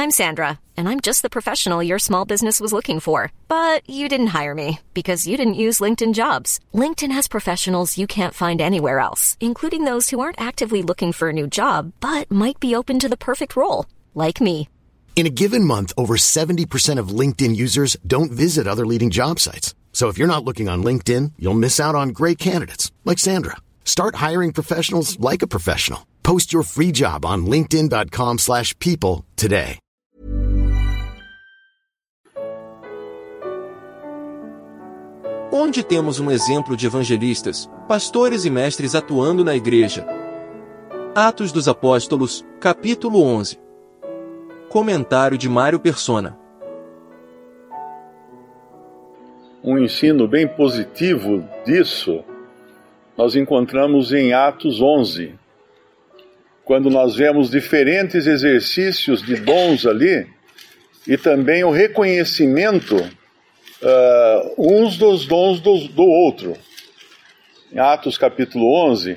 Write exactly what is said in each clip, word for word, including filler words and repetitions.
I'm Sandra, and I'm just the professional your small business was looking for. But you didn't hire me because you didn't use LinkedIn Jobs. LinkedIn has professionals you can't find anywhere else, including those who aren't actively looking for a new job, but might be open to the perfect role, like me. In a given month, over seventy percent of LinkedIn users don't visit other leading job sites. So if you're not looking on LinkedIn, you'll miss out on great candidates like Sandra. Start hiring professionals like a professional. Post your free job on linkedin dot com slash people today. Onde temos um exemplo de evangelistas, pastores e mestres atuando na igreja? Atos dos Apóstolos, capítulo onze. Comentário de Mário Persona. Um ensino bem positivo disso nós encontramos em Atos onze, quando nós vemos diferentes exercícios de dons ali e também o reconhecimento uh, uns dos dons do, do outro. Em Atos capítulo onze,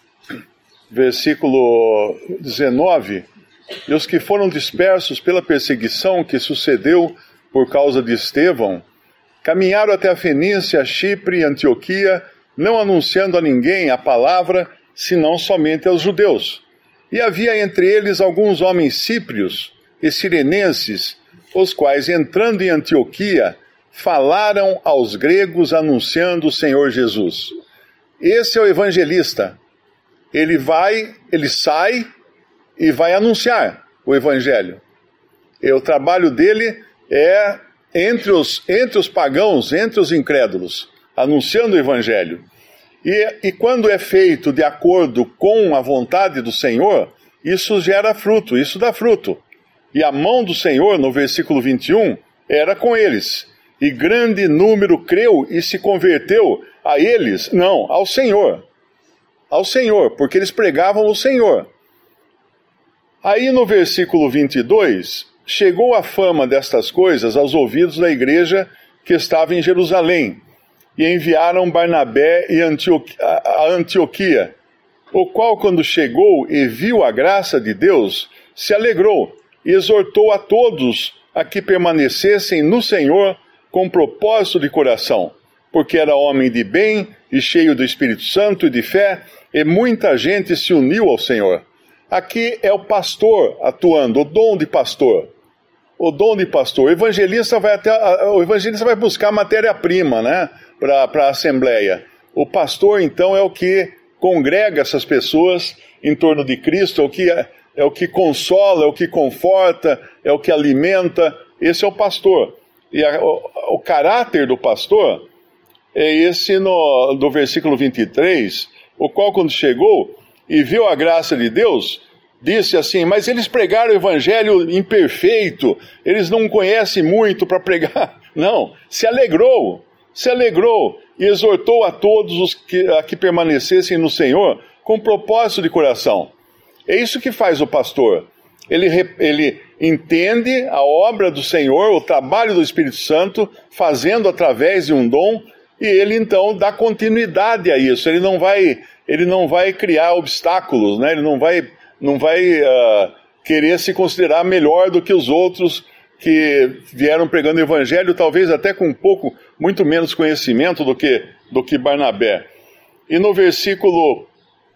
versículo dezenove, e os que foram dispersos pela perseguição que sucedeu por causa de Estevão, caminharam até a Fenícia, Chipre e Antioquia, não anunciando a ninguém a palavra, senão somente aos judeus. E havia entre eles alguns homens síprios e sirenenses, os quais, entrando em Antioquia, falaram aos gregos anunciando o Senhor Jesus. Esse é o evangelista. Ele vai, ele sai e vai anunciar o evangelho. E o trabalho dele é entre os, entre os pagãos, entre os incrédulos, anunciando o evangelho. E, e quando é feito de acordo com a vontade do Senhor, isso gera fruto, isso dá fruto. E a mão do Senhor, no versículo vinte e um, era com eles. E grande número creu e se converteu a eles, não, ao Senhor. Ao Senhor, porque eles pregavam o Senhor. Aí no versículo vinte e dois, chegou a fama destas coisas aos ouvidos da igreja que estava em Jerusalém, e enviaram Barnabé e Antioquia, a Antioquia, o qual, quando chegou e viu a graça de Deus, se alegrou e exortou a todos a que permanecessem no Senhor com propósito de coração, porque era homem de bem e cheio do Espírito Santo e de fé, e muita gente se uniu ao Senhor. Aqui é o pastor atuando, o dom de pastor. O dom de pastor. O evangelista vai, até, o evangelista vai buscar matéria-prima, né, para a assembleia. O pastor, então, é o que congrega essas pessoas em torno de Cristo, é o que, é, é o que consola, é o que conforta, é o que alimenta. Esse é o pastor. E a, o, o caráter do pastor é esse no, do versículo vinte e três, o qual, quando chegou e viu a graça de Deus, disse assim, mas eles pregaram o evangelho imperfeito, eles não conhecem muito para pregar. Não, se alegrou, se alegrou e exortou a todos os que, a que permanecessem no Senhor com propósito de coração. É isso que faz o pastor. Ele, ele entende a obra do Senhor, o trabalho do Espírito Santo, fazendo através de um dom, e ele então dá continuidade a isso. Ele não vai, ele não vai criar obstáculos, né? Ele não vai... não vai uh, querer se considerar melhor do que os outros que vieram pregando o evangelho, talvez até com um pouco, muito menos conhecimento do que, do que Barnabé. E no versículo,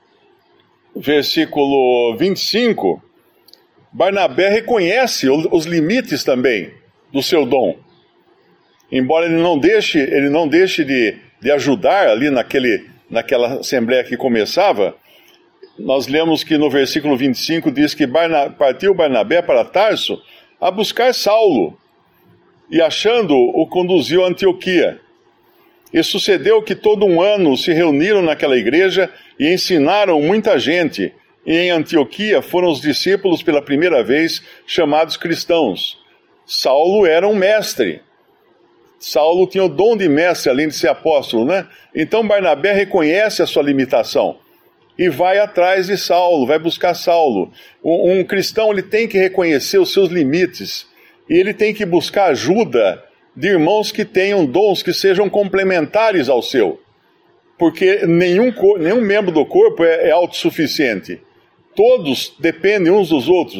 versículo vinte e cinco, Barnabé reconhece os limites também do seu dom. Embora ele não deixe, ele não deixe de, de ajudar ali naquele, naquela assembleia que começava, nós lemos que no versículo vinte e cinco diz que Barna, partiu Barnabé para Tarso a buscar Saulo, e achando-o, o conduziu a Antioquia. E sucedeu que todo um ano se reuniram naquela igreja e ensinaram muita gente, e em Antioquia foram os discípulos pela primeira vez chamados cristãos. Saulo era um mestre. Saulo tinha o dom de mestre, além de ser apóstolo, né? Então Barnabé reconhece a sua limitação e vai atrás de Saulo, vai buscar Saulo. Um, um cristão, ele tem que reconhecer os seus limites, e ele tem que buscar ajuda de irmãos que tenham dons que sejam complementares ao seu, porque nenhum, nenhum membro do corpo é, é autossuficiente. Todos dependem uns dos outros.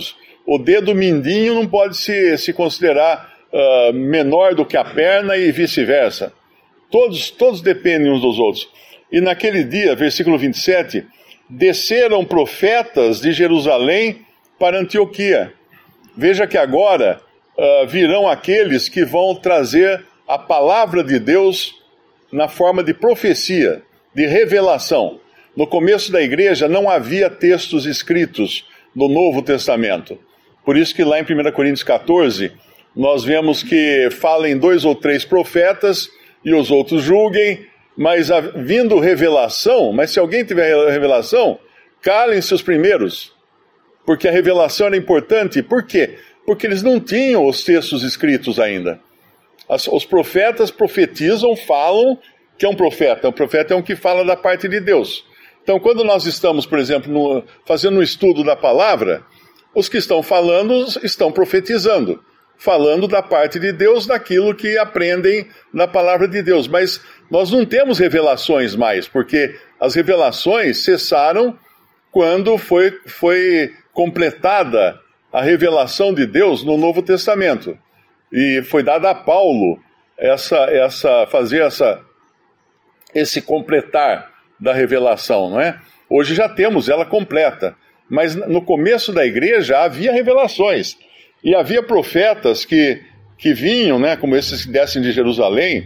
o dedo mindinho não pode se, se considerar uh, menor do que a perna e vice-versa. Todos, todos dependem uns dos outros. E naquele dia, versículo vinte e sete, desceram profetas de Jerusalém para Antioquia. Veja que agora uh, virão aqueles que vão trazer a palavra de Deus na forma de profecia, de revelação. No começo da igreja não havia textos escritos no Novo Testamento. Por isso que lá em primeira Coríntios catorze, nós vemos que falem dois ou três profetas e os outros julguem, mas vindo revelação, mas se alguém tiver revelação, calem-se os primeiros, porque a revelação era importante. Por quê? Porque eles não tinham os textos escritos ainda. As, os profetas profetizam, falam que é um profeta. Um profeta é um que fala da parte de Deus. Então, quando nós estamos, por exemplo, no, fazendo um estudo da palavra, os que estão falando estão profetizando, falando da parte de Deus, daquilo que aprendem na palavra de Deus. Mas nós não temos revelações mais, porque as revelações cessaram quando foi, foi completada a revelação de Deus no Novo Testamento. E foi dada a Paulo essa, essa, fazer essa, esse completar da revelação, não é? Hoje já temos ela completa, mas no começo da igreja havia revelações. E havia profetas que, que vinham, né, como esses que descem de Jerusalém,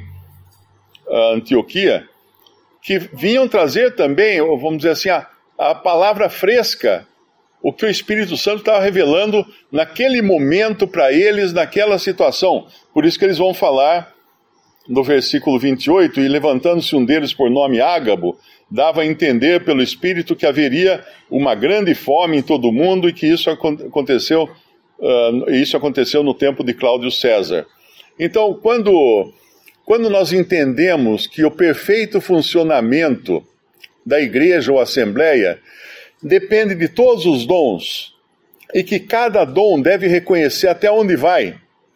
Antioquia, que vinham trazer também, vamos dizer assim, a, a palavra fresca, o que o Espírito Santo estava revelando naquele momento para eles, naquela situação. Por isso que eles vão falar no versículo vinte e oito, e levantando-se um deles por nome Ágabo, dava a entender pelo Espírito que haveria uma grande fome em todo o mundo e que isso aconteceu, uh, isso aconteceu no tempo de Cláudio César. Então, quando, quando nós entendemos que o perfeito funcionamento da igreja ou assembleia depende de todos os dons, e que cada dom deve reconhecer até onde vai,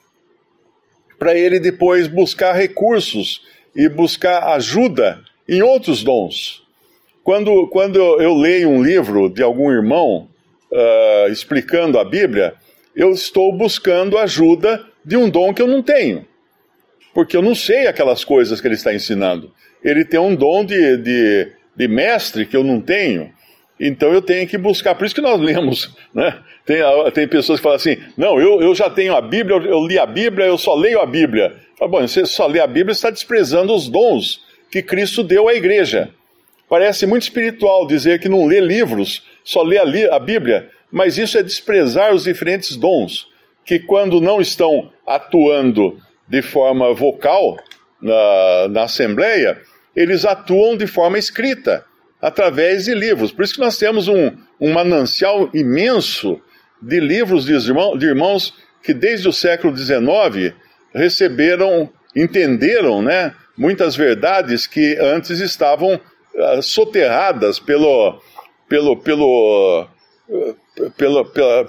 para ele depois buscar recursos e buscar ajuda em outros dons. Quando, quando eu leio um livro de algum irmão uh, explicando a Bíblia, eu estou buscando ajuda de um dom que eu não tenho, porque eu não sei aquelas coisas que ele está ensinando. Ele tem um dom de, de, de mestre que eu não tenho. Então eu tenho que buscar, por isso que nós lemos, né? Tem, tem pessoas que falam assim, não, eu, eu já tenho a Bíblia, eu, eu li a Bíblia, eu só leio a Bíblia. Fala, bom, você só lê a Bíblia, está desprezando os dons que Cristo deu à igreja. Parece muito espiritual dizer que não lê livros, só lê a, li, a Bíblia, mas isso é desprezar os diferentes dons, que quando não estão atuando de forma vocal na, na Assembleia, eles atuam de forma escrita, através de livros. Por isso que nós temos um, um manancial imenso de livros de irmãos, de irmãos que desde o século dezenove receberam, entenderam, né, muitas verdades que antes estavam uh, soterradas pelo, pelo, pelo, uh, pelo, pela,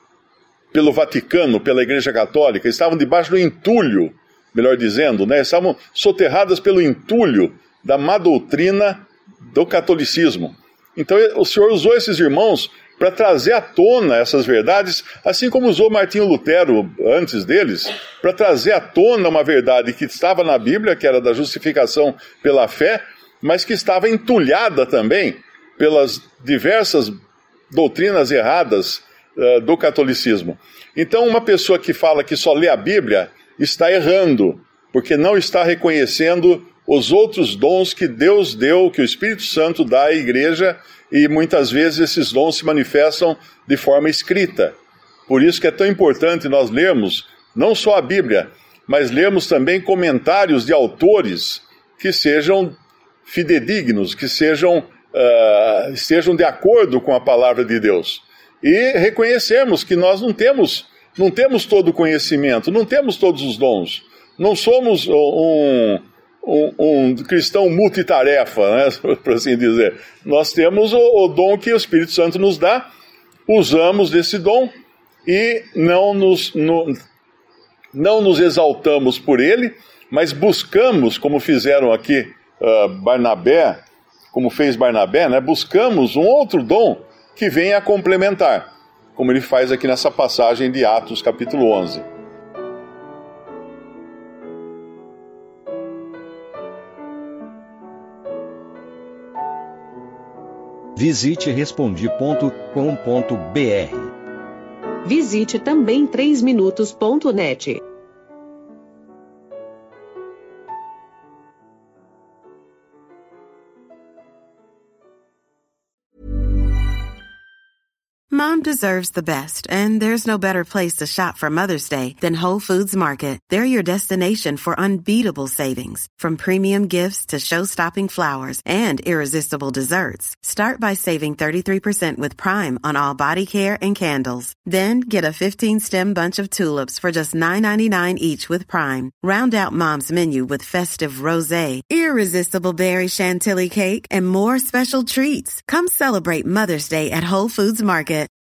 pelo Vaticano, pela Igreja Católica, estavam debaixo do entulho, melhor dizendo, né, estavam soterradas pelo entulho da má doutrina do catolicismo. Então o Senhor usou esses irmãos para trazer à tona essas verdades, assim como usou Martinho Lutero antes deles, para trazer à tona uma verdade que estava na Bíblia, que era da justificação pela fé, mas que estava entulhada também pelas diversas doutrinas erradas uh, do catolicismo. Então uma pessoa que fala que só lê a Bíblia está errando, porque não está reconhecendo os outros dons que Deus deu, que o Espírito Santo dá à igreja, e muitas vezes esses dons se manifestam de forma escrita. Por isso que é tão importante nós lermos não só a Bíblia, mas lermos também comentários de autores que sejam fidedignos, que sejam, uh, estejam de acordo com a palavra de Deus. E reconhecermos que nós não temos, não temos todo o conhecimento, não temos todos os dons. Não somos um... Um, um cristão multitarefa, né, por assim dizer. Nós temos o, o dom que o Espírito Santo nos dá, usamos desse dom e não nos, no, não nos exaltamos por ele, mas buscamos, como fizeram aqui uh, Barnabé, como fez Barnabé, né, buscamos um outro dom que venha a complementar. como ele faz aqui nessa passagem de Atos, capítulo onze. Visite respondi ponto com ponto br. Visite também três minutos ponto net. Mom deserves the best, and there's no better place to shop for Mother's Day than Whole Foods Market. They're your destination for unbeatable savings, from premium gifts to show-stopping flowers and irresistible desserts. Start by saving thirty-three percent with Prime on all body care and candles. Then get a fifteen-stem bunch of tulips for just nine ninety-nine each with Prime. Round out Mom's menu with festive rosé, irresistible berry chantilly cake, and more special treats. Come celebrate Mother's Day at Whole Foods Market.